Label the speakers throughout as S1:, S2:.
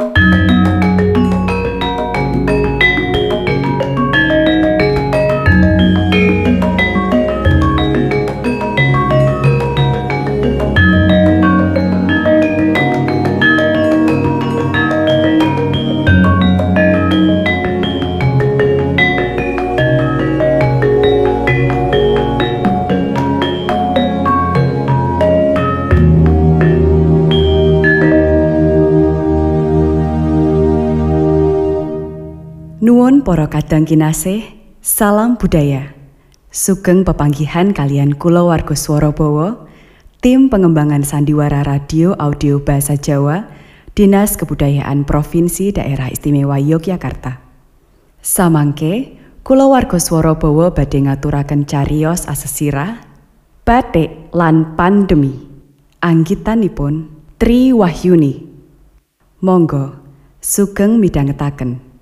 S1: Nuwun para kadang kinasih, salam budaya. Sugeng pepanggihan kalian kula warga Swarabawa, tim pengembangan sandiwara radio audio bahasa Jawa, Dinas Kebudayaan Provinsi Daerah Istimewa Yogyakarta. Samangke, kula warga Swarabawa badhe ngaturaken cariyos asesirah, batik lan pandemi. Anggitanipun Tri Wahyuni. Monggo, sugeng midhangetaken.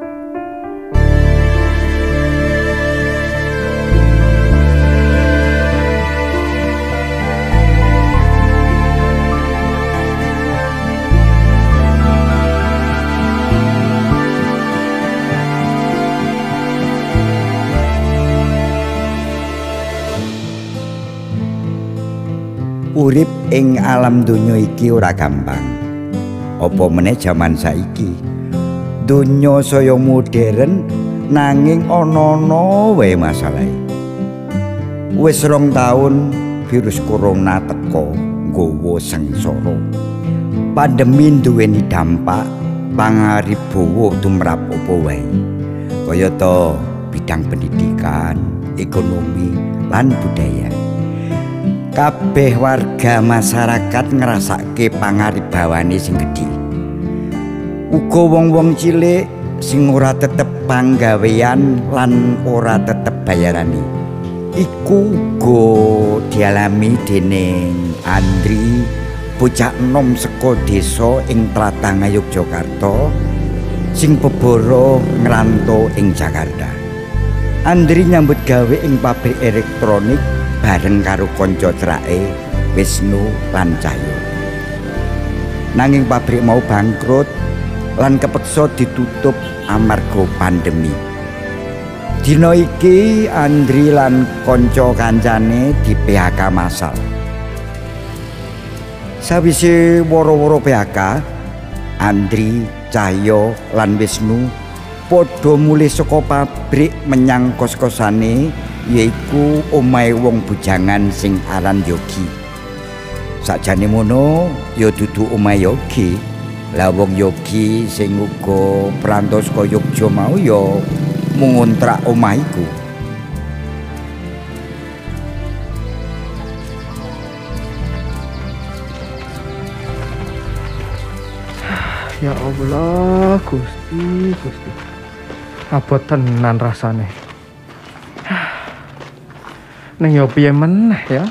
S2: Urip ing alam donya iki ora gampang. Apa meneh jaman saiki. Donya saya modern nanging ana-ana wae masalahe. Wis 2 taun virus corona teka nggawa sengsara. Pandemi duweni dampak pangaribawa tumrap apa wae. Kayata bidang pendidikan, ekonomi, lan budaya. Kabeh warga masyarakat ngrasake pangaribawane sing gedhe. Uga wong-wong cilik sing ora tetep panggawean lan ora tetep bayarane. Iku uga dialami dening Andri, bocah enom saka desa ing Tlatah Yogyakarta sing bebara ngranto ing Jakarta. Andri nyambut gawe ing pabrik elektronik bareng karo kanca cerake Wisnu lan Cahyo. Nanging pabrik mau bangkrut lan kepeksa ditutup amarga pandemi. Dina iki Andri lan kanca kancane di PHK massal. Sawise woro-woro PHK, Andri, Cahyo lan Wisnu padha mulih saka pabrik menyang kos-kosane, yaiku omahe wong bujangan sing aran Yogi. Sakjane mono ya dudu omahe Yogi. Lah wong Yogi sing uga perantau saka Yogya mau ya mung ngontrak omah iku.
S3: Ya Allah, Gusti. Abot tenan rasane. Neng yo piye meneh ya?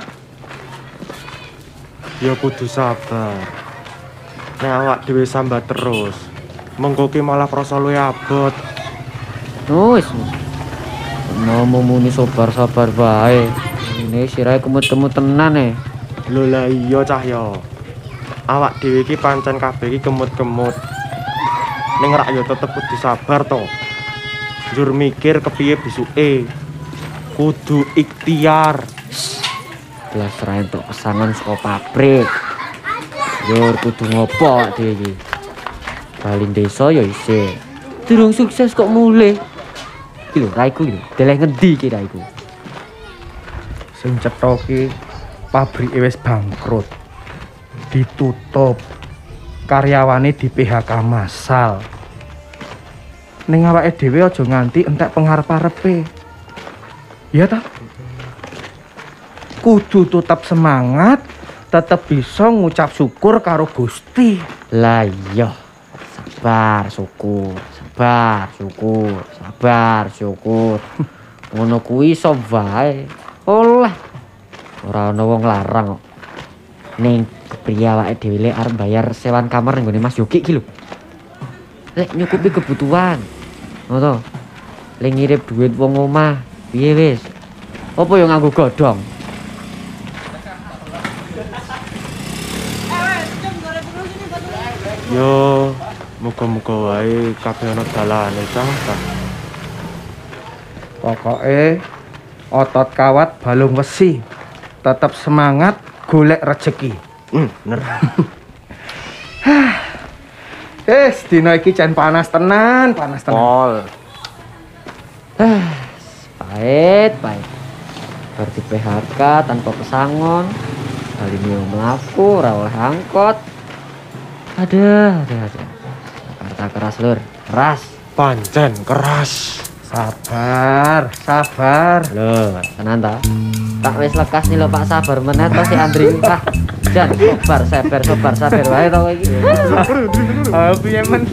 S4: Ya kudu sabar. Nek awak dhewe sambat terus, mengko ki malah krasa luwih abot.
S5: Wis. Nomo muni sabar-sabar bae. Ini sirahe kemut-kemut tenan e.
S4: Lho lah iya Cahya. Awak dhewe iki pancen kabeh iki kemut-kemut. Ning rak yo tetep kudu sabar to. Njur mikir kepiye besuke. Kudu ikhtiar.
S5: Belas ra entuk pesanan saka pabrik. Yo kudu ngopo dhewe iki. Baling desa ya isih. Durung sukses kok mulih. Iki lho raiku iki. Deleh ngendi iki raiku?
S3: Sing cetha ki pabrike wis bangkrut. Ditutup. Karyawane di PHK massal. Ning awake dhewe aja nganti entek pengarep-arepe. Ya ta? Kudu tetap semangat, tetap bisa ngucap syukur karo Gusti.
S5: Lah iya. Sabar syukur. Ngono kuwi iso wae. Oleh. Ora ana wong larang kok. Ning kepriye awake dhewe lek arep bayar sewan kamar ning gone Mas Yogi iki lho. Lek nyukupi kebutuhan. Ngono. Lek ngirip duit wong omah, piye wis? Apa yo nganggo godhong?
S4: Yo Muga-muga wae kabeh ana dalane cah.
S3: Pokoke otot kawat balung wesi. Tetap semangat golek rezeki.
S4: Bener.
S3: Dina iki jan panas tenan.
S4: Pol.
S5: Pahit. Berarti PHK tanpa pesangon. Kali ini melaku, ora oleh angkot. Aduh. Jakarta keras lur, keras.
S4: Pancen keras.
S3: Sabar.
S5: Loh, tenan ta? Tak wis lekas nih lho Pak, sabar meneh to si Andri. Jan, sabar wae to kowe iki.
S3: Piye men?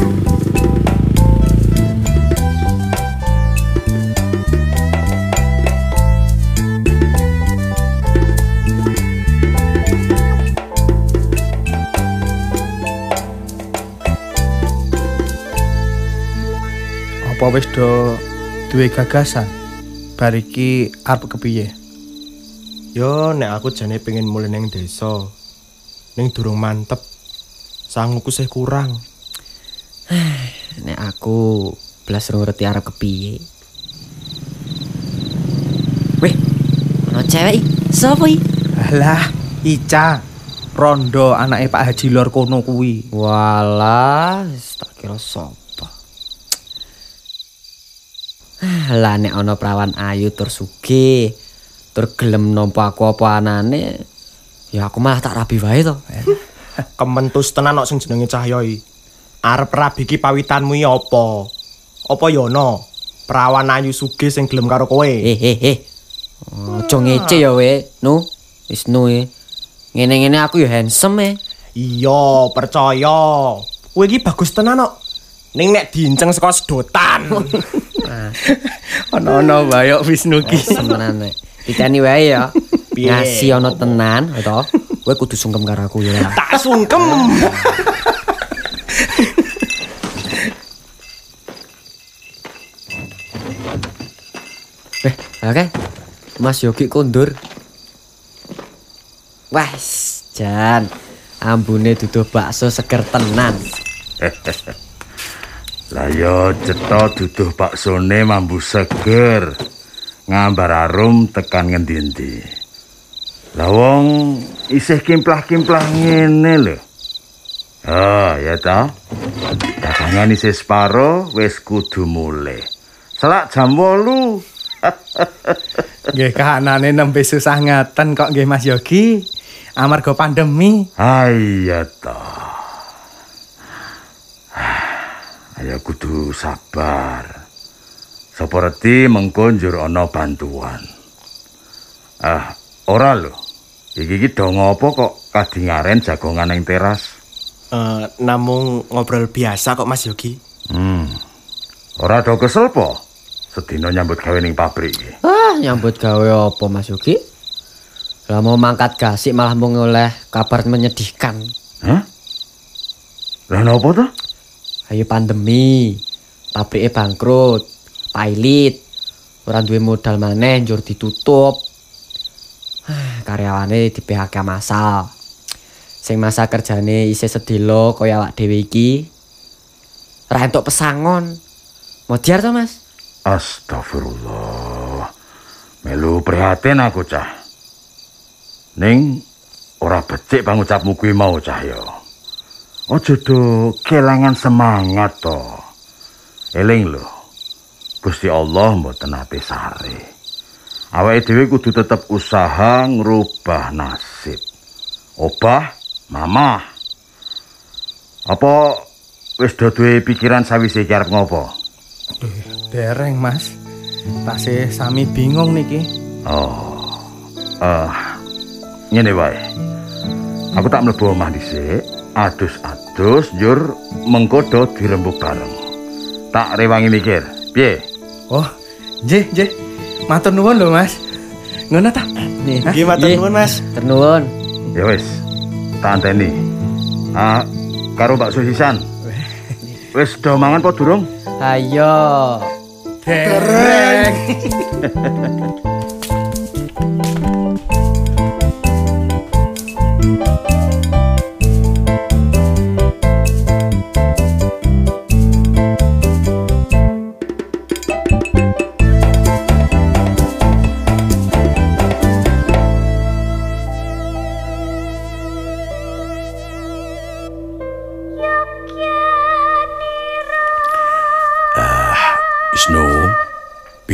S3: Apa wis do duwe gagasan? Bar iki arep kepiye?
S4: Yo nek aku jane pengen mulih ning desa. Ning durung mantep. Sangguku sih kurang.
S5: Nek aku blas ngerti arep kepiye. Weh, ana cewek iki. Sopo iki?
S3: Alah, Ica. Rondo anake Pak Haji Lor kono kuwi.
S5: Walah, tak kira sapa. Lah nek ana prawan ayu tur sugih, tur gelem nampa aku apa anane, ya aku malah tak rabi wae to.
S4: Kementus tenan kok sing jenenge Cahya iki. Arep rabi ki pawitanmu iki apa? Apa ya ana prawan ayu sugih sing gelem karo kowe?
S5: Aja ngece ya we, Nu. Wis Nu e. Ngene-ngene aku ya handsome e.
S4: Iya, percaya. Kowe iki bagus tenan kok. Ning nek diinceng saka sedotan.
S3: Ono-ono wae Wisnu ki.
S5: Tenan nek. Diteni wae ya.
S4: Piye?
S5: Ngasih ana tenan to. Kowe kudu sungkem karo aku ya.
S4: Tak sungkem.
S5: Oke. Mas Yogi kondur. Wes, Jan. Ambune duduh bakso seger tenan.
S6: Lah yo cetha duduh baksone mambu seger. Ngambar arum tekan ngendi-endi. Lah wong isih kimplah-kimplah ngene lho. Oh, ya ta. Dagangan isih separo wis kudu mulih. Selak jam 8.
S3: Nggih kahanane nembe susah ngaten kok nggih Mas Yogi. Amarga pandemi.
S6: Iya ta. Ayo kudu sabar. Sapa reti mengko njur ana bantuan. Ora lho. Iki dong apa kok kadingaren jagongan ning teras?
S4: Namung ngobrol biasa kok Mas Yogi.
S6: Ora do kesel po? Sedina nyambut gawe ning pabrik iki.
S5: Nyambut gawe apa Mas Yogi? Lah mau mangkat gasik malah mau ngoleh kabar menyedihkan.
S6: Hah? Lah napa to?
S5: Ayo pandemi, pabriknya bangkrut, pailit, ora duwe modal maneh njur ditutup. Karyawane di PHK massal. Sing masa kerjane isih sedelo kaya awak dhewe iki. Ora entuk pesangon. Modiar to, Mas?
S6: Astagfirullah. Melu prihatin aku, Cah. Ning ora becik pangucapmu kuwi mau, Cahya. Aja do kelangan semangat to. Eling lho. Gusti Allah mboten ate sare. Awake dhewe kudu tetep usaha ngrubah nasib. Obah, mamah. Apa wis do duwe pikiran sawise iki arep ngopo?
S3: Dereng, Mas. Tasih sami bingung niki.
S6: Ngene wae. Aku tak mlebu omah dhisik, adus-adus njur mengko do dirembug bareng. Tak rewangi mikir. Piye?
S3: Oh, nggih. Matur nuwun lho, Mas. Ngono ta?
S4: Nggih, matur nuwun, Mas.
S5: Matur nuwun.
S6: Ya wis. Tak anteni. Karo bakso sisan. Wis do mangan apa durung?
S5: Ayo.
S3: Dereng.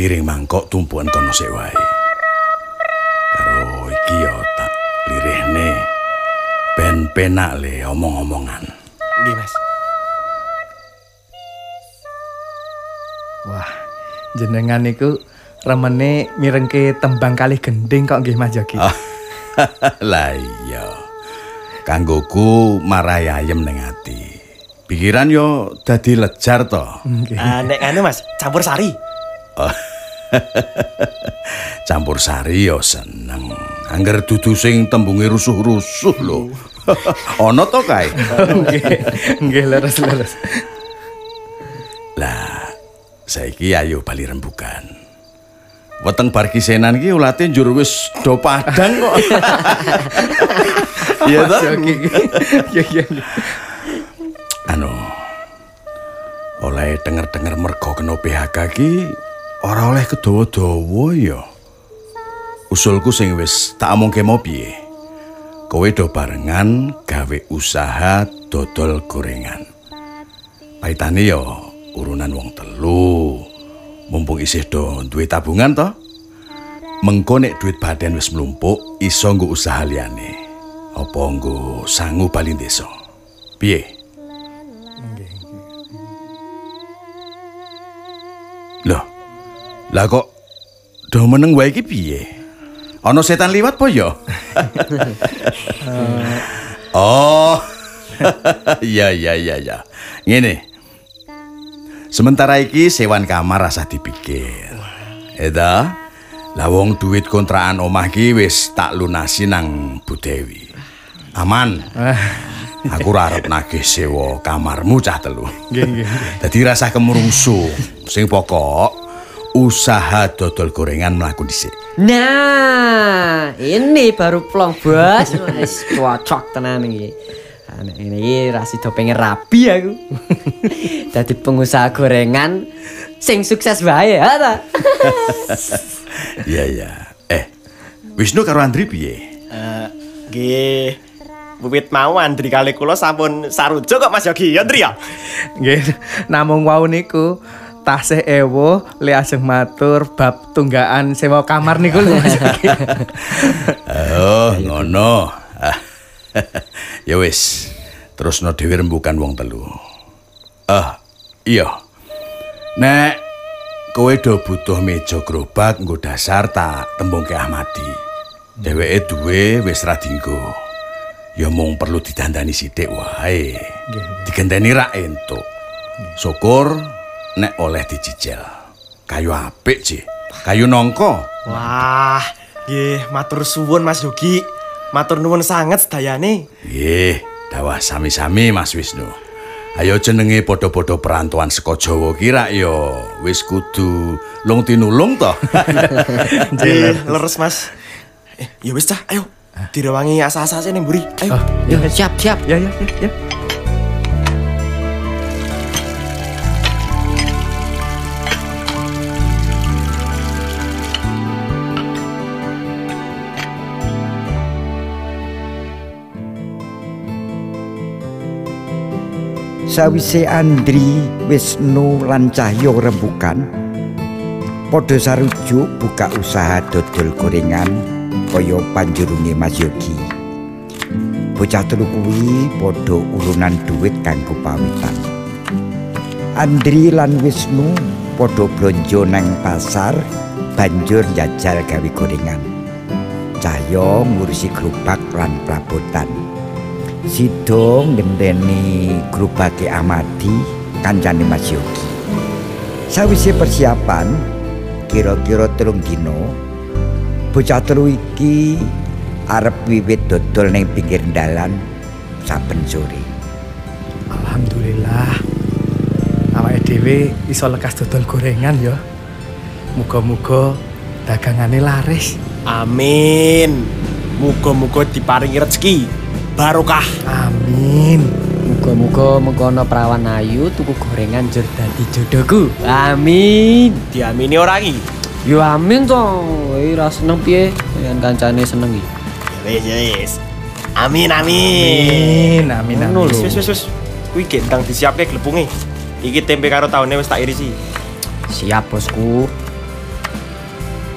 S7: piring mangkok tumpuan kono sik wae. Karo iki yo tak lirihne ben penak le omong-omongan.
S4: Nggih, Mas.
S3: Wah, jenengan niku remene mirengke tembang kalih gending kok nggih Mas Yogi.
S7: Lah iya. Kanggoku marai ayem ning ati. Pikiran yo dadi lejar to.
S4: Nek anu Mas, campur sari.
S7: Campur sari yo seneng. Angger dudu sing tembunge rusuh-rusuh lho. Ana to kae?
S3: Nggih, leres.
S7: Lah, saiki ayo bali rembugan. Weteng bar kisenan iki ulate njur wis do padang kok. Iya to?
S3: Iya.
S7: Anu. Oleh denger-denger mergo kena PHK ki ora oleh kedawa-dawa ya. Usulku sing wis tak omongke mau piye. Kowe do barengan gawe usaha dodol gorengan. Paitane ya urunan wong telu. Mumpung isih do duwe tabungan to. Mengko nek duit badan wis mlumpuk iso nggo usaha liyane. Apa nggo sangu bali desa. Piye? Loh. Lah kok do meneng wae iki piye? Ana setan liwat po ya? Oh. Iya. Ngene. Sementara iki sewan kamar rasa dipikir. Eta, lah wong duit kontrakan omah ki wis tak lunasi nang Bu Dewi. Aman. Aku ora arep nagih sewa kamarmu cah telu.
S3: Nggih.
S7: Dadi rasa kemrungsu. Sing pokok usaha dodol gorengan mlaku dhisik.
S5: Nah, ini baru plong bos. Wis cocok tenan iki. Nek ngene iki ra sida pengen rabi aku. Dadi pengusaha gorengan sing sukses wae ya ta.
S7: Iya. Wisnu karo Andri piye?
S4: Nggih. Wiwit mau Andri kali kula sampun sarujuk kok Mas Yogi, ya Andri ya?
S3: Nggih, namung wau niku tasih ewo le ajeng matur bab tunggakan sewa kamar niku lho Mas Yogi.
S7: Oh, ngono. Ya wis, terusno dhewe rembukan wong telu. Iya. Nek kowe do butuh meja gerobak nggo dasar tak tembungke Ahmadi. Dheweke duwe wis ra dienggo. Ya mung perlu didandani sithik wae. Digenteni rak entuk. Syukur nek oleh dicicil. Kayu apik, Ci. Kayu nangka.
S4: Wah, nggih, matur suwun Mas Yogi. Matur nuwun sanget sedayane.
S7: Nggih, dawah sami-sami Mas Wisnu. Ayo jenenge padha-padha perantauan saka Jawa ki rak ya wis kudu lung tinulung to.
S4: Nggih, leres Mas. Ya wis cah, ayo. Direwangi asa-asase ning mburi. Ayo.
S5: Ya siap.
S3: Ya.
S2: Sawise Andri, Wisnu lan Cahyo rembukan padha sarujuk buka usaha dodol gorengan kaya panjurunge Mas Yogi. Bocah telu kuwi padha urunan duit kanggo pawitan. Andri lan Wisnu padha blonjo nang pasar banjur njajal gawe gorengan. Cahyo ngurusi gerobak lan perabotan. Sido ngenteni gerobake Ahmadi kancane Mas Yogi. Sawise persiapan kira-kira 3 dina bocah telu iki arep wiwit dodol ning pinggir dalan saben sore.
S3: Alhamdulillah. Awake dhewe iso lekas dodol gorengan ya. Muga-muga dagangane laris.
S4: Amin. Muga-muga diparingi rezeki barokah.
S3: Amin.
S5: Muga-muga mengkono perawan ayu tuku gorengan njur dadi jodohku. Amin.
S4: Diamini ora iki?
S5: Yo amin to. Ora seneng piye yen kancane seneng iki.
S4: Wis. Amin.
S5: Ngono lho.
S4: Wis. Kuwi gendang disiapke glepunge. Iki tempe karo taune wis tak irisi.
S5: Siap bosku.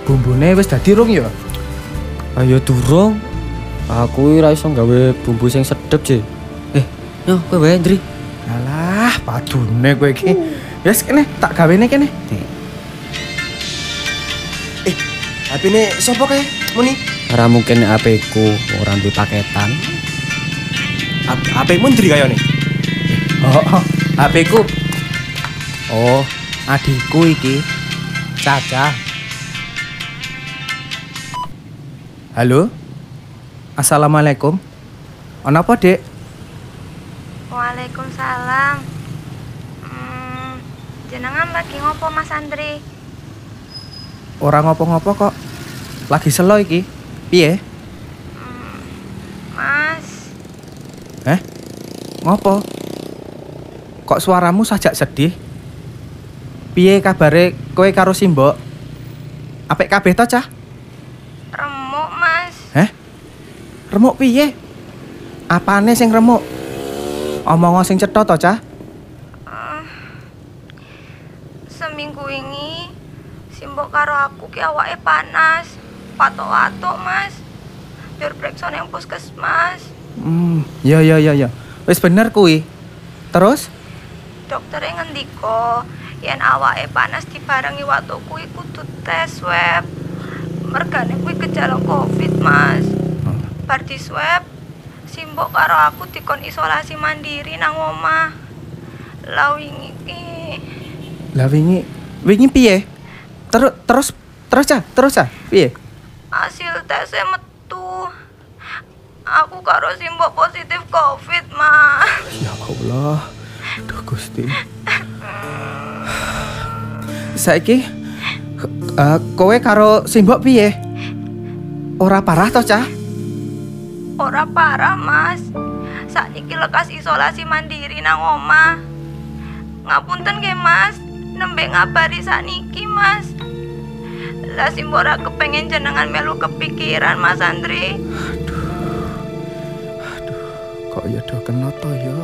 S3: bumbune wis dadi rung ya?
S5: Ayo durung. Aku ora iso gawe bumbu sing sedep, Ji. Yo kowe wae, Ndri.
S3: Alah, padune kowe iki. Wis kene tak gawene kene.
S4: HP-ne sapa kae? Muni.
S5: Ora mungkin HP ku ora duwe paketan.
S4: HP-mu Ndri kayane.
S3: Oh, HP ku. Oh, adikku iki. Caca. Halo. Assalamualaikum. Ono apa, Dek?
S8: Waalaikumsalam. Jenengan lagi ngopo Mas Andri?
S3: Ora ngopo-ngopo kok. Lagi selo iki. Piye?
S8: Mas,
S3: Ngopo? Kok suaramu sajak sedih? Piye kabare kowe karo Simbok? Apik kabeh to, Cah?
S8: remuk Mas.
S3: Remuk piye? Apane sing remuk? Omong sing cetha to, Cah?
S8: Seminggu ini Simbok karo aku ki awake panas, patok-patok Mas. Biar periksa nang puskesmas.
S3: Ya. Wis bener kuwi. Terus?
S8: Dokternya ngendika yen awake panas dibarengi watu kuwi kudu tes swab. Mergane kuwi gejala Covid, Mas. Bar di swab, Simbok karo aku dikon isolasi mandiri nang omah. Lah wingi iki.
S3: Lah wingi piye? Terus Cah, piye?
S8: Hasil tesnya metu. Aku karo Simbok positif Covid, Mas.
S3: Ya Allah. Duh Gusti. Saiki kowe karo Simbok piye? Ora parah to, Cah?
S8: Ora parah, Mas. Sakniki lekas isolasi mandiri nang omah. Ngapunten nggih, Mas. Nembe ngabari sakniki, Mas. Lah Simbok ora kepengen jenengan melu kepikiran, Mas Andri.
S3: Kok ya do kena to ya?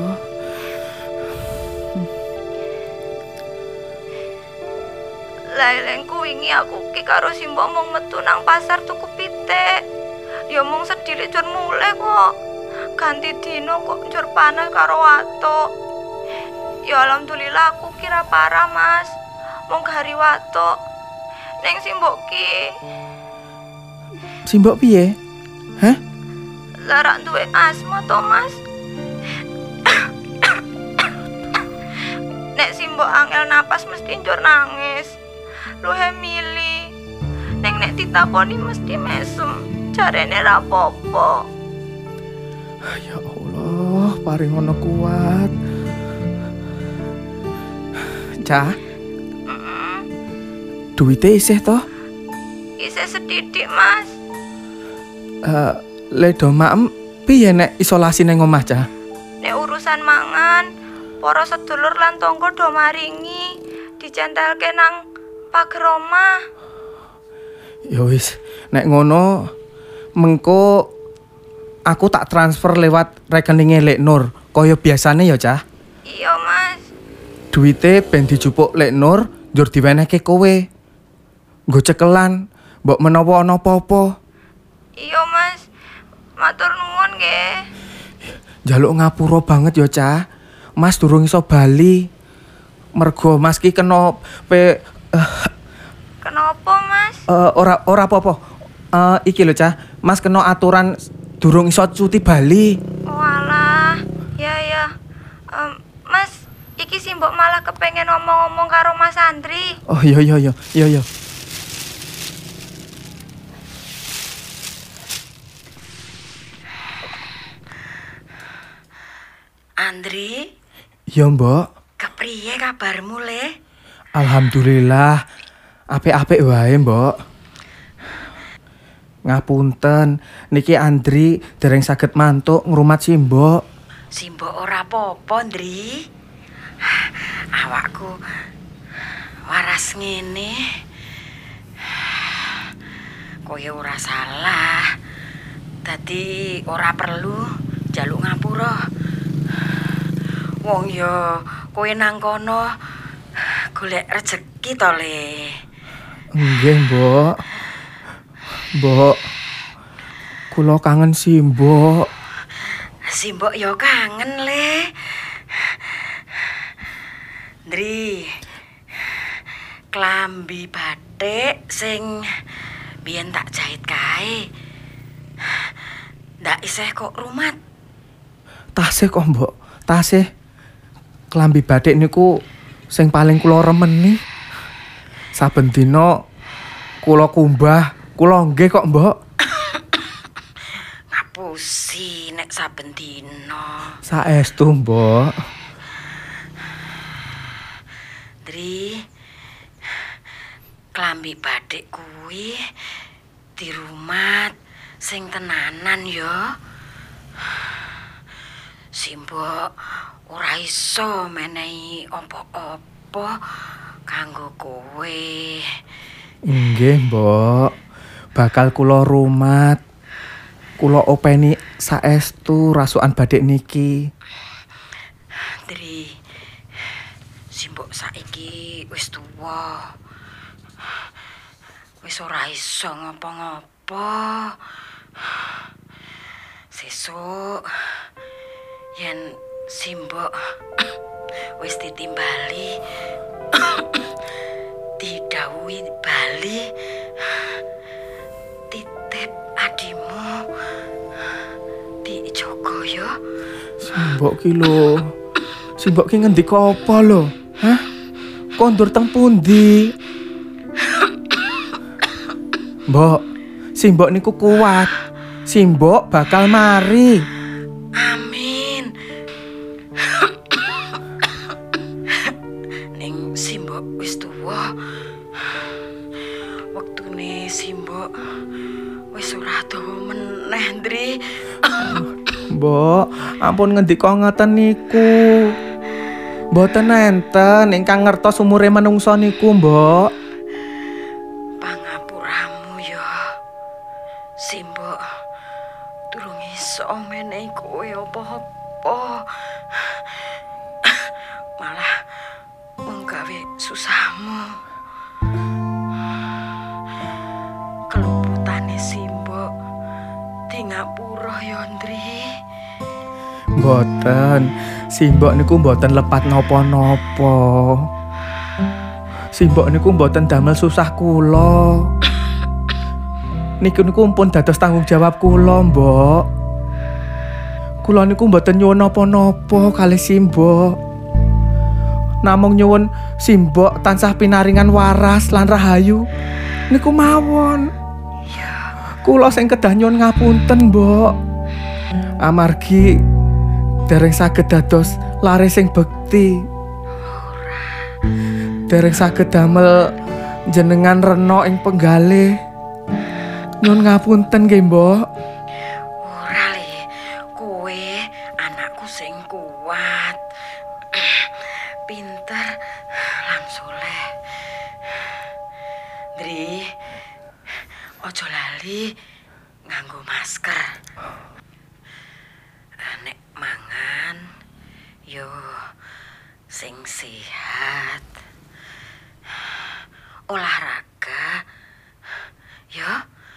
S8: Lailengku wingi aku ki karo Simbok mung metu nang pasar tuku pitik. Ya mung sedhile jur mulih kok. Ganti dino kok jur panas karo watuk. Ya alhamdulillah aku kira parah, Mas. Mung hari watuk. Ning Simbok ki.
S3: Simbok piye?
S8: Lara duwe asma to, Mas. Nek Simbok angel napas mesti njur nangis. Luhe mili. Nek ditakoni mesti mesem. Jarene ra apa-apa.
S3: Ya Allah, paring ngono kuat. Cah. Duite isih to?
S8: Isih sedidik, Mas.
S3: Le do maem piye nek isolasi ning omah, Cah?
S8: Nek urusan mangan, para sedulur lan tangga do maringi dicentelke nang pager omah.
S3: Ya wis, nek ngono mengko aku tak transfer lewat rekeninge Lek Nur kaya biasane ya, Cah.
S8: Iya, Mas.
S3: Duite ben dijupuk Lek Nur njur diwenehke kowe. Nggo cekelan, mbok menawa ana apa-apa.
S8: Iya, Mas. Matur nuwun nggih.
S3: Njaluk ngapura banget ya, Cah. Mas durung iso bali. Mergo Mas ki kena
S8: Kenapa, Mas?
S3: Ora apa-apa. Iki lho, Cah. Mas kena aturan durung iso cuti bali.
S8: Walah, ya. Mas, iki Simbok malah kepengen ngomong-ngomong karo Mas Andri.
S3: Oh, iya.
S9: Andri,
S3: Ya, Mbok.
S9: kepriye kabarmu le?
S3: Alhamdulillah. Apik-apik wae, Mbok. Ngapunten, niki Andri dereng saged mantuk ngrumat Simbok.
S9: Simbok ora apa-apa, Ndri. Awakku waras ngene. Kowe ora salah. Dadi ora perlu njaluk ngapura. Wong ya kowe nang kono golek rejeki to, Le.
S3: Nggih, Mbok. Mbok. Kula kangen Simbok.
S9: Simbok yo kangen le. Ndri. Klambi batik sing biyen tak jahit kae. Ndak isih kok rumat.
S3: Tasih kok, Mbok. Tasih. Klambi batik niku sing paling kula remeni. Saben dina kula kumbah, kula nggih kok, Mbok.
S9: Ngapusi nek saben dina.
S3: Saestu, Mbok.
S9: Dri, klambi batik kuwi dirumat sing tenanan ya. Simbok ora iso menehi apa-apa kanggo kowe.
S3: Nggih, Mbok. Bakal kula rumat. Kula openi saestu rasukan batik niki.
S9: Dri, Simbok saiki wis tuwa. Wis ora iso ngopo-ngopo. Sesuk yen Simbok wis ditimbali didhawuhi bali titip adimu dijogo ya.
S3: Simbok ki lho. Simbok ki ngendika apa lho? Hah? Kondur teng pundi? Mbok, Simbok niku kuat. Simbok bakal mari.
S9: Amin. Ning Simbok wis tuwa. Wektune Simbok wis ora dawa meneh, Ndri.
S3: Mbok, ampun ngendika ngoten niku. Mboten enten ingkang ngertos umure manungsa niku, Mbok.
S9: Pangapuramu ya. Simbok durung iso menehi kowe apa-apa. Malah mung gawe susahmu. Keluputane Simbok di ngapura ya, Ndri.
S3: Mboten, Simbok niku mboten lepat napa-napa. Simbok niku mboten damel susah kula. Niku pun dados tanggung jawab kula, Mbok. Kula niku mboten nyuwun napa-napa kalih Simbok. Namung nyuwun Simbok tansah pinaringan waras lan rahayu. Niku mawon. Kula sing kedah nyuwun ngapunten, Mbok. Amargi dereng saged dados lare sing bekti. Dereng saged damel jenengan rena ing penggalih. Nyuwun ngapunten nggih, Mbok.
S9: Ora le, kowe anakku sing kuat. Pinter lan soleh. Dri, ojo lali nganggo masker. Nek mangan yo sing sehat. Olahraga yo.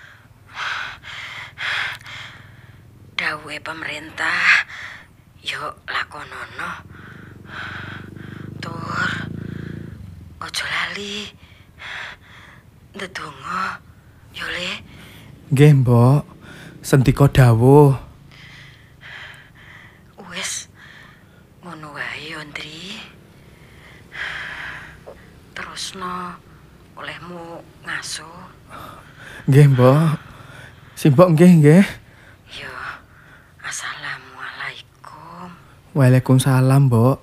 S9: Dawuhe pemerintah yo lakonono. Tur ojo lali ndedonga yo le.
S3: Nggih, Mbok. Sendika dawuh.
S9: Wis ngono wae yo, Ndri. Terusno olehmu ngasuh.
S3: Nggih, Mbok. Simbok nggih.
S9: Yo, assalamualaikum.
S3: Waalaikumsalam, Mbok.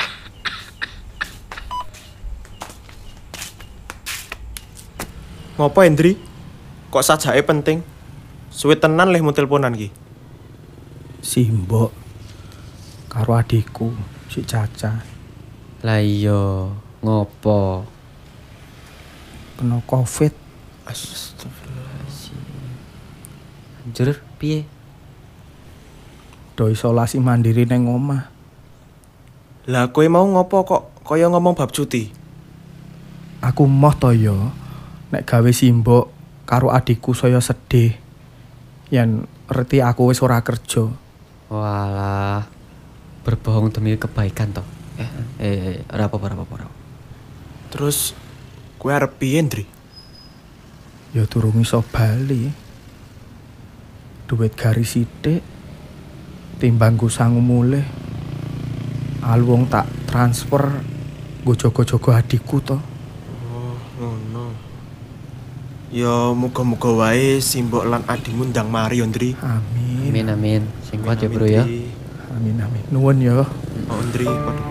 S4: Ngopo, Hendri? Kok sajake penting? Suwe tenan leh mu teleponan ki.
S3: Simbok karo adikku si Caca
S5: Lah iya, ngopo?
S3: kena Covid.
S5: Astagfirullahaladzim. Anjir, piye?
S3: Do isolasi mandiri neng omah.
S4: Lah kowe mau ngopo kok kaya ngomong bab cuti?
S3: Aku moh to yo nek gawe Simbok karo adikku saya sedih yen reti aku wis ora kerja.
S5: Walah, berbohong demi kebaikan toh. Ora apa-apa.
S4: Terus kowe arep piye, Ndri?
S3: Ya durung iso bali. Duit garis sithik timbang go sangu mulih. Alwong tak transfer nggo jaga-jaga adikku to.
S4: Oh, ngono. Ya muga-muga wae Simbok lan adimu ndang mari yo, Ndri.
S5: Amin. Sing kuat ya, Bro ya.
S3: Amin. Nuwun ya.
S4: Oh, Ndri, padha.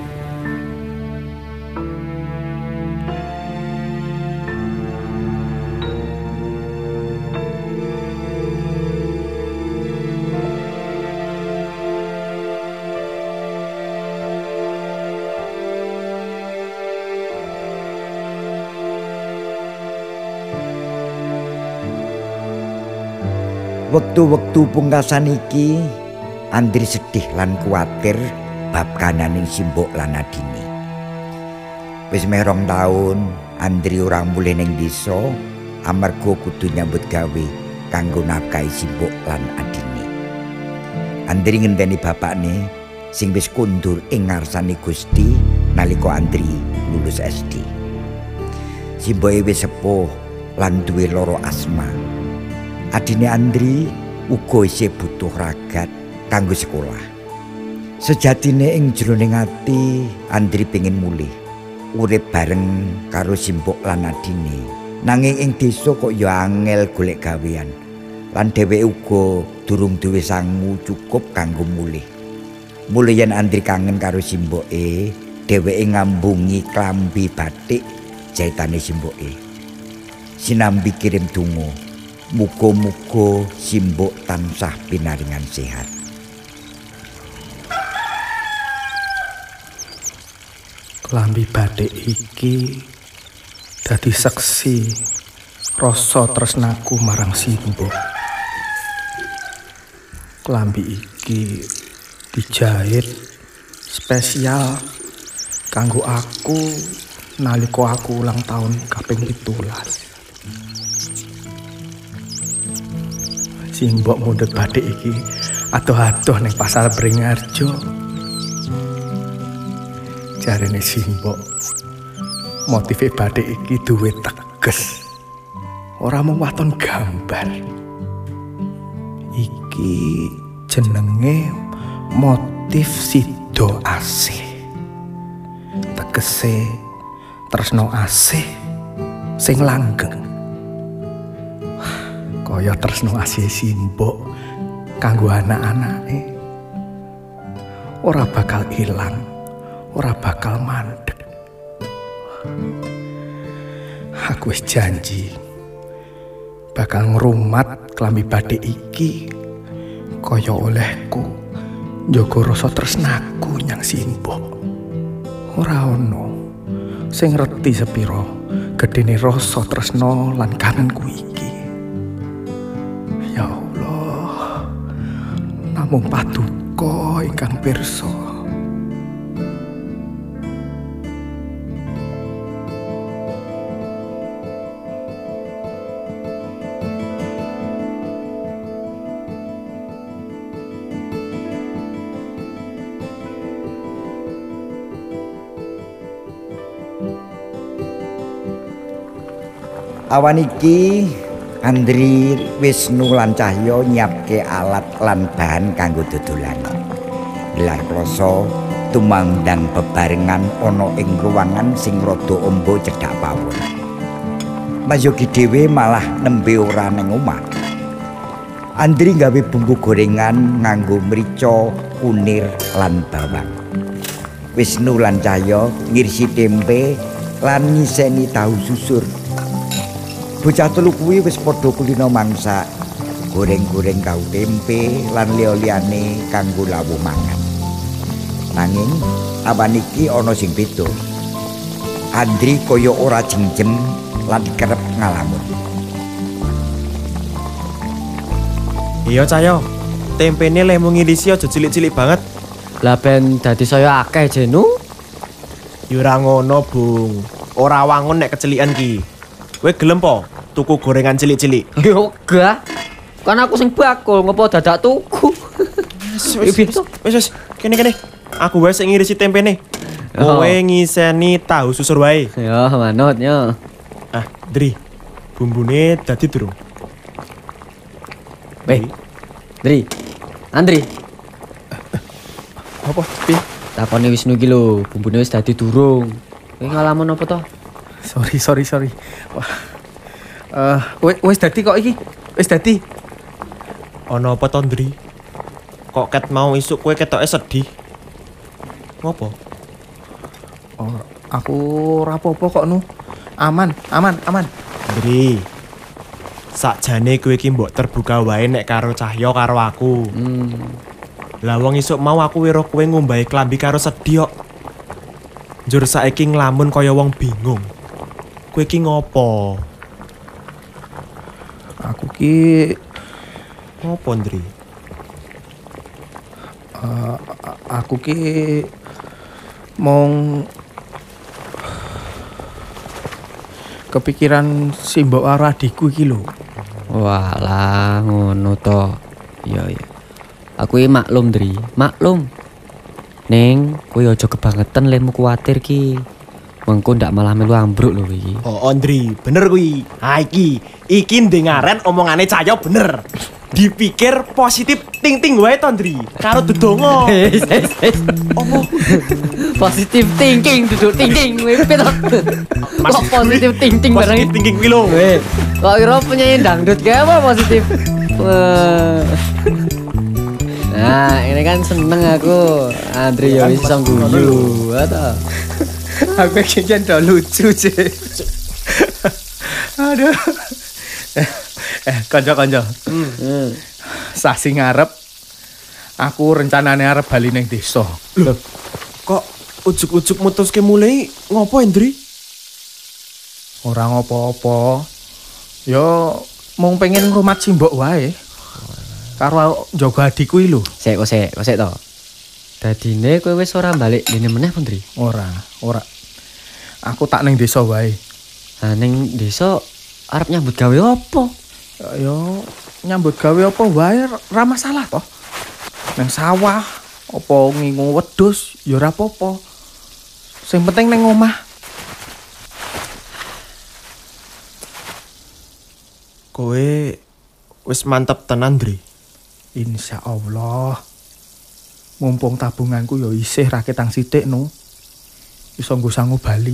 S2: Wektu-wektu pungkasan iki Andri sedih lan kuwatir bab kananing Simbok lan adine. Wis meh 2 taun Andri ora mulih ning desa amarga kudu nyambut gawe kanggo nafkahi Simbok lan adine. Andri ngenteni bapakne sing wis kundur ing ngarsane Gusti nalika Andri lulus SD. Simboke wis sepuh lan duwe loro asma. Adine Andri uga isih butuh ragat kanggo sekolah. Sejatine ing jroning ati Andri pengin mulih urip bareng karo Simbok lan adine. Nanging ing desa kok ya angel golek gawean. Lan dheweke uga durung duwe sangu cukup kanggo mulih. Mulih yen Andri kangen karo Simboke, dheweke ngambungi klambi batik jaitane Simboke. Sinambi kirim donga. Muga-muga Simbok tansah pinaringan sehat.
S3: Klambi batik iki dadi seksi rasa tresnaku marang Simbok. Klambi iki dijahit spesial kanggo aku nalika aku ulang tahun kaping 17. Simbok mundhut batik iki adoh-adoh ning pasar Bringarjo. Jarene Simbok, motif batik iki duwe teges. Ora mung waton gambar. Iki jenenge motif sida asih. Tegese tresno asih sing langgeng. Kaya tresno asih Simbok kanggo anak-anake. Ora bakal ilang, ora bakal mandeg. Aku wis janji bakal ngrumat klambi batik iki kaya olehku njaga rasa tresnaku nyang Simbok. Ora ono sing ngerti sepiro gedene rasa tresno lan kangenku iki. Ya Allah, namung paduka ingkang pirsa.
S2: Awan iki Andri, Wisnu lan Cahya nyiapke alat lan bahan kanggo dodolan. Gelar kloso tumandang bebarengan ana ing ruangan sing rada amba cedhak pawon. Mas Yogi dhewe malah nembe ora ning omah. Andri gawe bumbu gorengan nganggo mrica, kunir lan bawang. Wisnu lan Cahya ngirsi tempe lan ngiseni tahu susur. Bocah telu kuwi wis padha kulina mangsak, goreng-goreng tahu tempe lan liya-liyane kanggo lawuh mangan. Nanging awan iki ana sing beda. Andri kaya ora jengjem lan kerep ngalamun.
S4: Iya Cahyo, tempene lemu ngilisi aja cilik-cilik banget.
S5: Lah ben dadi saya akeh jenu.
S4: Ya ora ngono, Bung. Ora wangun nek kecelikan ki. Kowe gelem po tuku gorengan cilik-cilik.
S5: Yo gak. Kan aku sing bakul ngopo dadak tuku.
S4: Wis, kene. Aku wae sing ngirisi tempene. Kowe ngiseni tahu susur wae.
S5: Yo manut yo.
S4: Ah, Dri. Bumbune dadi durung.
S5: Dri. Andri.
S3: Apa? Pi?
S5: Takone Wisnu iki lho, bumbune wis dadi durung. Kowe ngalamun apa to?
S3: Sorry. Wah. Wis dadi kok iki. Wis dadi.
S4: Ana apa to, Dri? Kok ket mau isuk kowe ketoke sedih? Ngopo?
S3: Oh, aku ora apa-apa kok nu. Aman.
S4: Dri. Sakjane kowe iki mbok terbuka wae nek karo Cahya karo aku. Lah wong isuk mau aku weruh kowe ngombahi klambi karo sedih kok. Njur saiki nglamun kaya wong bingung. Kowe iki ngopo?
S3: Aku ki
S4: Ngopo, Ndri?
S3: aku ki mong kepikiran si mbok karo adikku iki lho.
S5: Walah ngono to. Iya. Aku iki maklum, Dri. Maklum. Ning, kowe aja kebangetan lemu kuwatir ki. Mengko ndak malah melu ambruk lho iki.
S4: Oh, Ndri, bener kuwi. Ha iki ndengaren omongane Cahya bener. Dipikir positif ting-ting wae to, Ndri. Karo dedonga. Opo?
S5: Positive thinking duduk thinking kowe pito. Kok positive thinking barang
S4: Positif thinking kuwi lho.
S5: Kok kira penyanyi dangdut kayak apa positif? Nah, ini kan seneng aku. Andri ya wis iso guyu. Ata.
S3: Aku kayaknya udah lucu sih. Aduh. Kanca-kanca. Sasi ngarep aku rencanane arep bali ning desa.
S4: Loh, kok ujuk-ujuk mutuske mulai ngopo, Ndri?
S3: Ora ngopo-opo. Yo mung pengen ngrumat simbok wae. Karo njaga adikku iki lho.
S5: Sik to. Dadine kowe wis ora balik dene meneh, Pundri?
S3: Ora. Aku tak ning desa wae.
S5: Ha ning desa arep nyambut gawe apa?
S3: Yo nyambut gawe apa wae ora masalah toh. Nang sawah apa ngingu wedhus ya ora apa-apa. Sing penting ning omah.
S4: Kowe wis mantep tenan, Ndri.
S3: Insya Allah. Mumpung tabunganku ya isih ra ketang sithik no. Iso nggo sangu bali.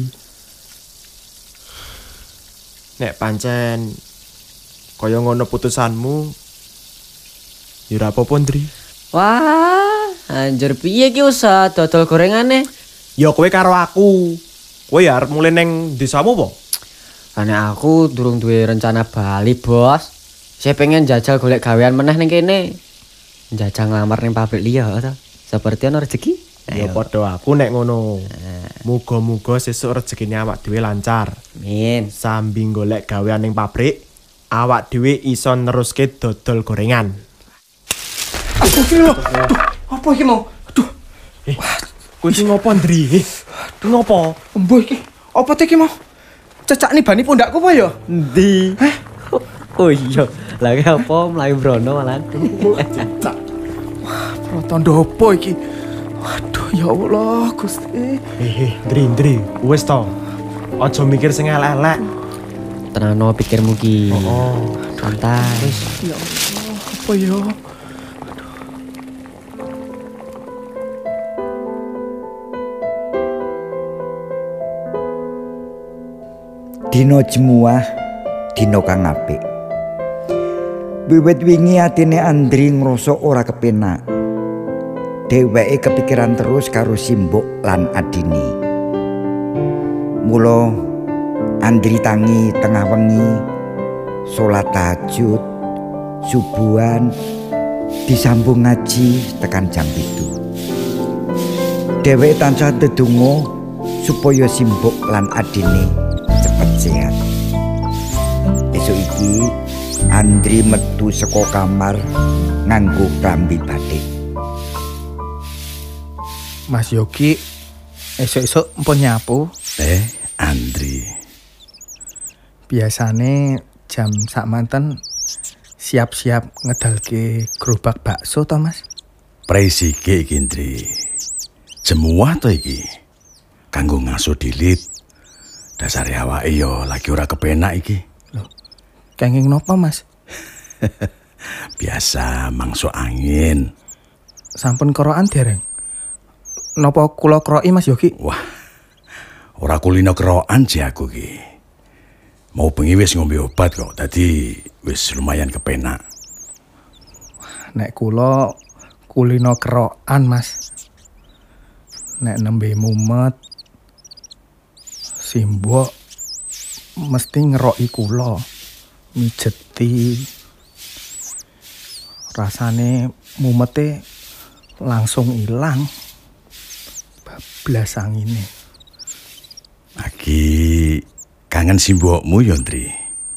S4: Nek pancen kaya ngono putusanmu, ya ora apa-apa, Ndri.
S5: Wah, anjir piye ki usaha dodol gorengane?
S4: Ya kowe karo aku. Kowe ya arep mulai neng desamu apa?
S5: Karena aku durung duwe rencana bali, Bos. Saya pengen jajal golek gawean meneh ning kene. Jajal nglamar ning pabrik liya to. Seperti ana rezeki.
S4: Ya padha aku nek ngono. Muga-muga sesuk rezekine awak dhewe lancar.
S5: Amin.
S4: Sambi golek gawean ning pabrik, awak dhewe iso neruske dodol gorengan.
S3: Aku iki lho. Apa iki mau? Aduh.
S4: Kowe iki ngopo, Ndri? Aduh ngopo?
S3: Embuh iki. Apa teh iki mau? Cecak nih bani pundakku apa ya?
S5: Endi? Oh iya, lagi apa mlayu brono malan.
S3: Cecak. Wah, protondo apa iki? Waduh, ya Allah, Gusti.
S4: Ndri, wis to. Aja mikir sing elek-elek.
S5: Tenano pikirmu ki.
S4: Oh,
S5: santai.
S3: Ya Allah, apa ya?
S2: Dino jemuah, dino kang apik. Wiwit wingi atine Andri ngrasa ora kepenak. Dheweke kepikiran terus karo simbok lan adine. Mula Andri tangi tengah wengi salat tahajud, subuhan disambung ngaji tekan jam 7. Dheweke tansah ndedonga supaya simbok lan adine cepet sehat. Esuk iki Andri metu saka kamar nganggo klambi batik.
S3: Mas Yogi, esuk-esuk mpun nyapu.
S7: Andri.
S3: Biasane jam sakmanten siap-siap ngedalke gerobak bakso to, Mas?
S7: Presike iki, Ndri. Jemuah to iki. Kanggo ngaso dilit. Dasare awake yo lagi ora kepenak iki.
S3: Loh, kenging nopo, Mas?
S7: Biasa mangso angin.
S3: Sampun kerokan dereng? Napa kula kroki, Mas Yogi?
S7: Wah, ora kulino kerokan sih aku ki. Mau bengi wis ngombe obat kok, dadi wis lumayan kepenak.
S3: Nek kula kulino kerokan, Mas. Nek nembe mumet, simbok mesti ngeroki kula, mijeti. Rasane mumete langsung ilang. Bablas angine.
S7: Lagi kangen simbokmu yo, Ndri.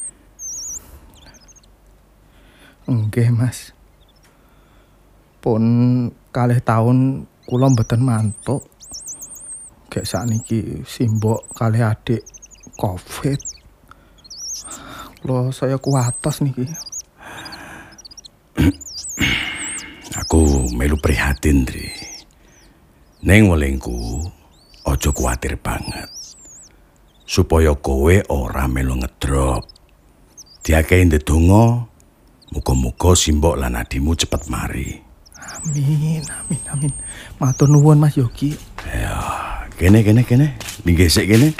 S3: Nggih, Mas. Pun kalih taun kula mboten mantuk. Gek sakniki simbok kalih adik Covid. Kula saya kuatos niki.
S7: Aku melu prihatin, Ndri. Ning welingku aja kuwatir banget. Supaya kowe ora melu ngedrop. Diakehi ndedonga, muga-muga simbok lan adimu cepet mari.
S3: Amin, amin, amin. Matur nuwun, Mas Yogi.
S7: Ya, kene. Linggih sik kene.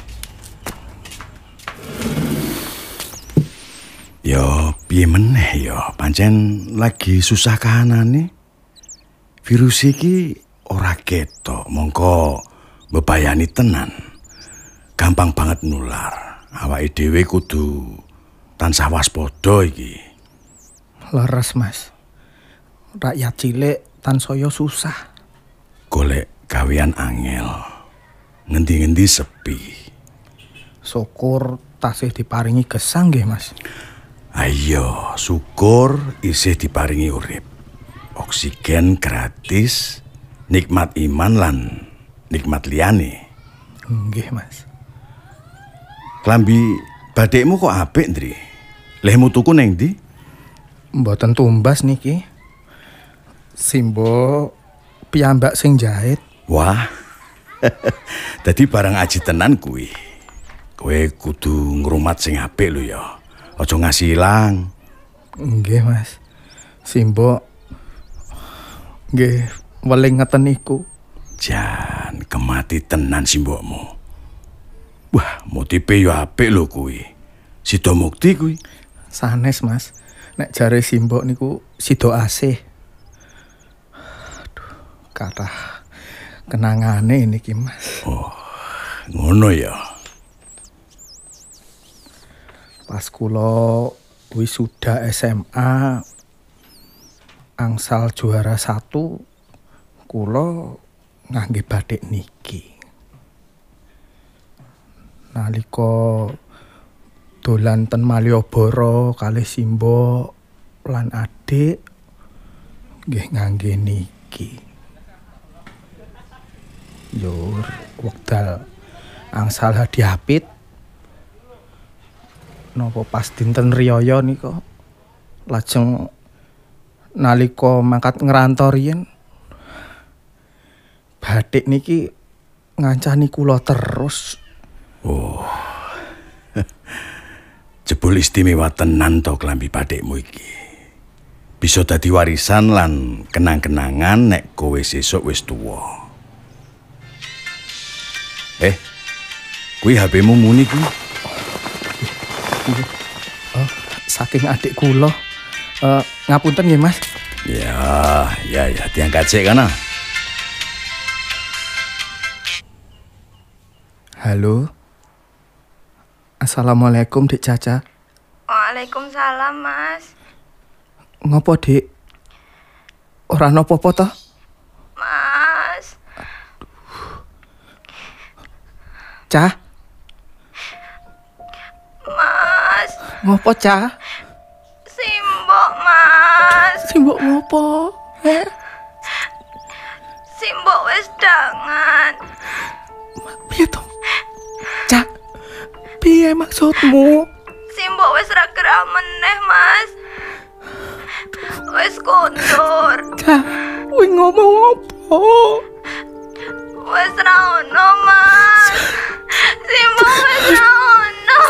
S7: Yo, piye meneh yo, pancen lagi susah kahanane. Virus iki ora ketok, mongko bebayani tenan. Gampang banget nular. Awake dhewe kudu tansah waspada iki.
S3: Leres, Mas. Rakyat cilik tansaya susah.
S7: Golek gawean angel. Ngendi-ngendi sepi.
S3: Syukur tasih diparingi gesang nggih, Mas.
S7: Ayo, syukur isih diparingi urip. Oksigen gratis, nikmat iman lan nikmat liyane.
S3: Nggih, Mas.
S7: Klambi badekmu kok apik, Ndri? Lehmu tuku neng ndi?
S3: Mboten tumbas niki. Simbo piyambak sing jahit.
S7: Wah. Dadi barang aji tenan kuwi. Kowe kudu ngrumat sing apik lho ya. Aja ngasih ilang.
S3: Nggih, Mas. Simbo nggih weling ngeten niku.
S7: Jan kemati tenan simbokmu. Wah, motipe yo apik lho kuwi. Sida mukti kuwi.
S3: Sanes, Mas. Nek jare simbok niku sida asih. Aduh, kathah kenangane niki, Mas.
S7: Oh, ngono ya.
S3: Pas kula wisuda SMA angsal juara 1 kula ngangge batik niki. Nalika dolan ten Malioboro kalih simbok lan adik nggih ngangge niki. Yur wekdal angsal hadiapit napa pas dinten riyaya nika lajeng nalika mangkat ngrantau riyen batik niki ngancani kula terus.
S7: Oh. Jebul istimewa tenan to klambi batikmu iki. Bisa dadi warisan lan kenang-kenangan nek kowe sesuk wis tuwa. Kuwi HP-mu muni kuwi.
S3: Saking adik kula. Ngapunten nggih, Mas.
S7: Ya, diangkat sik kana.
S3: Halo. Assalamualaikum, Dik Caca.
S8: Waalaikumsalam, Mas.
S3: Ngopo, Dik? Ora napa-apa toh?
S8: Mas.
S3: Cah?
S8: Mas.
S3: Ngopo, Cah?
S8: Simbok, Mas.
S3: Simbok ngopo?
S8: Simbok wis dangan.
S3: Piye to? Cah? Piye maksudmu?
S8: Simbok wis ra gerak meneh, Mas. Wis kondur.
S3: Cah, kowe ngomong apa?
S8: Wis ra ono, Mas. Simbo wis ra ono.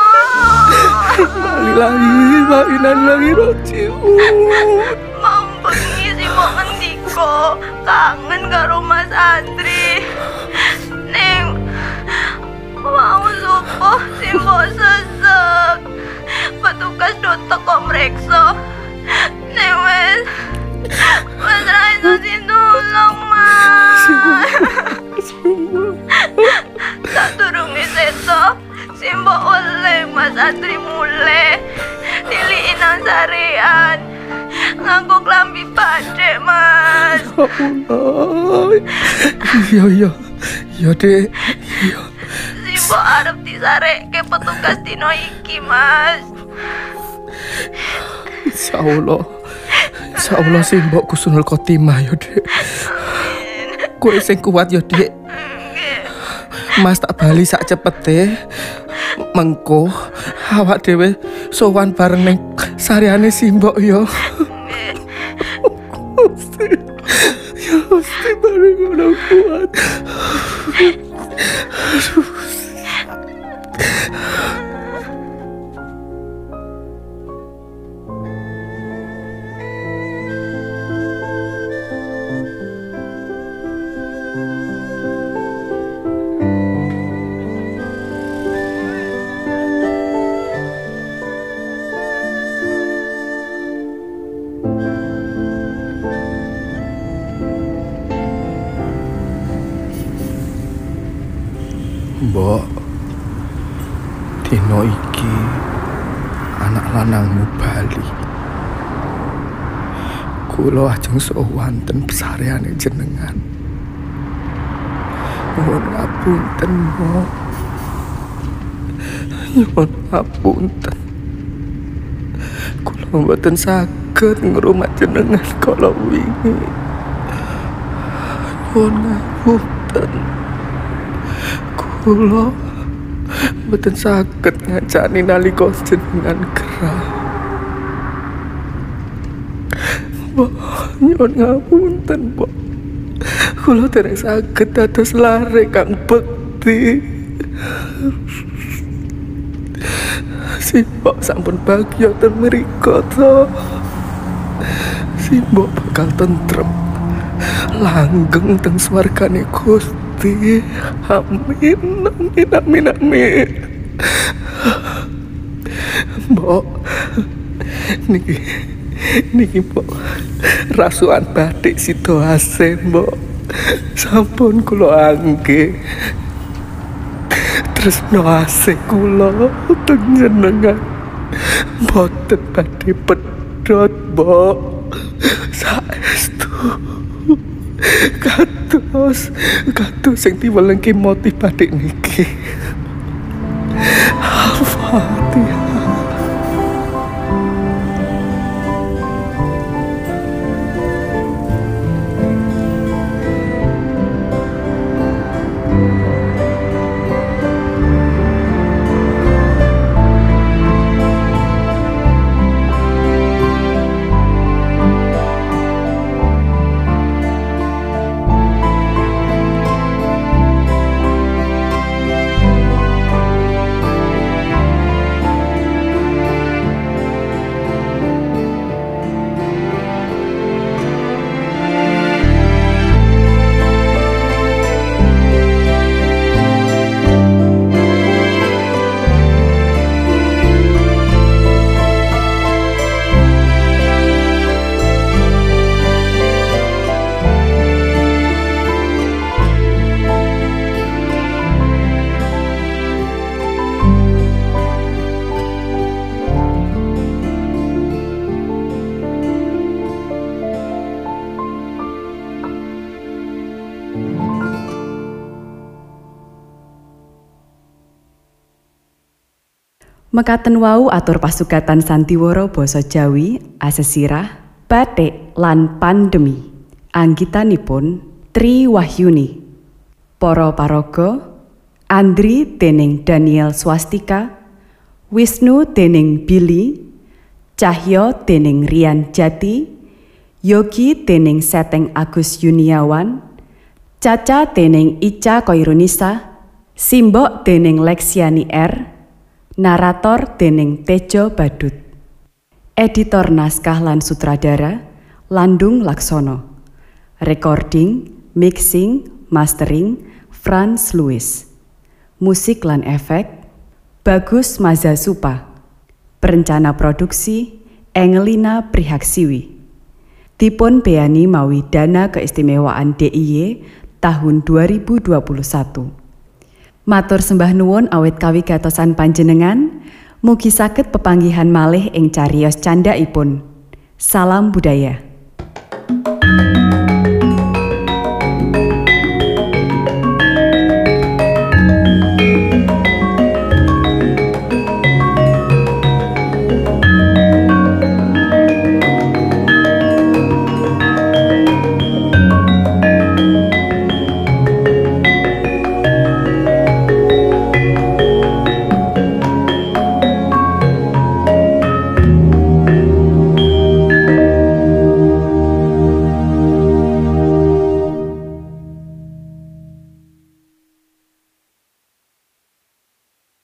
S3: Lagi rojiun.
S8: Mau bengi Simbo ngendiko kangen karo Mas Andri. Ning mau subuh Simbo sesek. Petugas do teko mreksa. Ning wis ra iso ditulung, Mas. Sadurunge seto Simbo oleh Mas Andri mulai niliki nang sarean nganggo klambi badhe, Mas.
S3: Iya, Dek. Iya.
S8: Simbo arep disarekke petugas dino iki, Mas.
S3: Insyaallah Simbo Husnul Khotimah ya, Dek. Kowe sing kuat ya, Dek. Mas tak bali sak cepete. Mengko awak dhewe sowan bareng ning sareane Simbo ya. Gusti bareng ngono kuat. Mbok, dino iki anak lanangmu bali. Kula ajeng sowan ten sareane jenengan. Nuwun ngapunten, Mbok. Nyuwun ngapunten. Kula mboten saged ngrumat jenengan kala wingi. Nyuwun ngapunten. Kula mboten saged ngancani nalika jenengan gerah. Mbok, nyuwun ngapunten, Mbok. Kula dereng saged dados lare kang bekti. Simbok sampun bagya ten mriko to. Simbok bakal tentrem langgeng teng swargane Gusti. Amin. Mbok, niki Mbok rasukan batik Sidoase, Mbok. Sampun kula angge. Tresno asih kula teng jenengan mboten badhe pedhot, Mbok. Saestu kados sing diwelengke motif batik niki. Al-Fatihah.
S1: Mekaten wau atur pasugatan Santiwara basa Jawi, asesirah, batik lan pandemi. Anggitanipun Tri Wahyuni. Para paraga, Andri dening Daniel Swastika, Wisnu dening Billy, Cahyo dening Rian Jati, Yogi dening Seteng Agus Yuniawan, Caca dening Ica Koirunisa, Simbok dening Leksiani R, narator dening Tejo Badut. Editor naskah lan sutradara Landung Laksono. Recording, mixing, mastering Franz Louis. Musik lan efek Bagus Mazasupa. Perencana produksi Engelina Prihaksiwi. Dipun beani mawi dana keistimewaan DIY tahun 2021. Matur sembah nuwun awit kawigatosan panjenengan, mugi saged pepanggihan malih ing cariyos candhaipun. Salam budaya.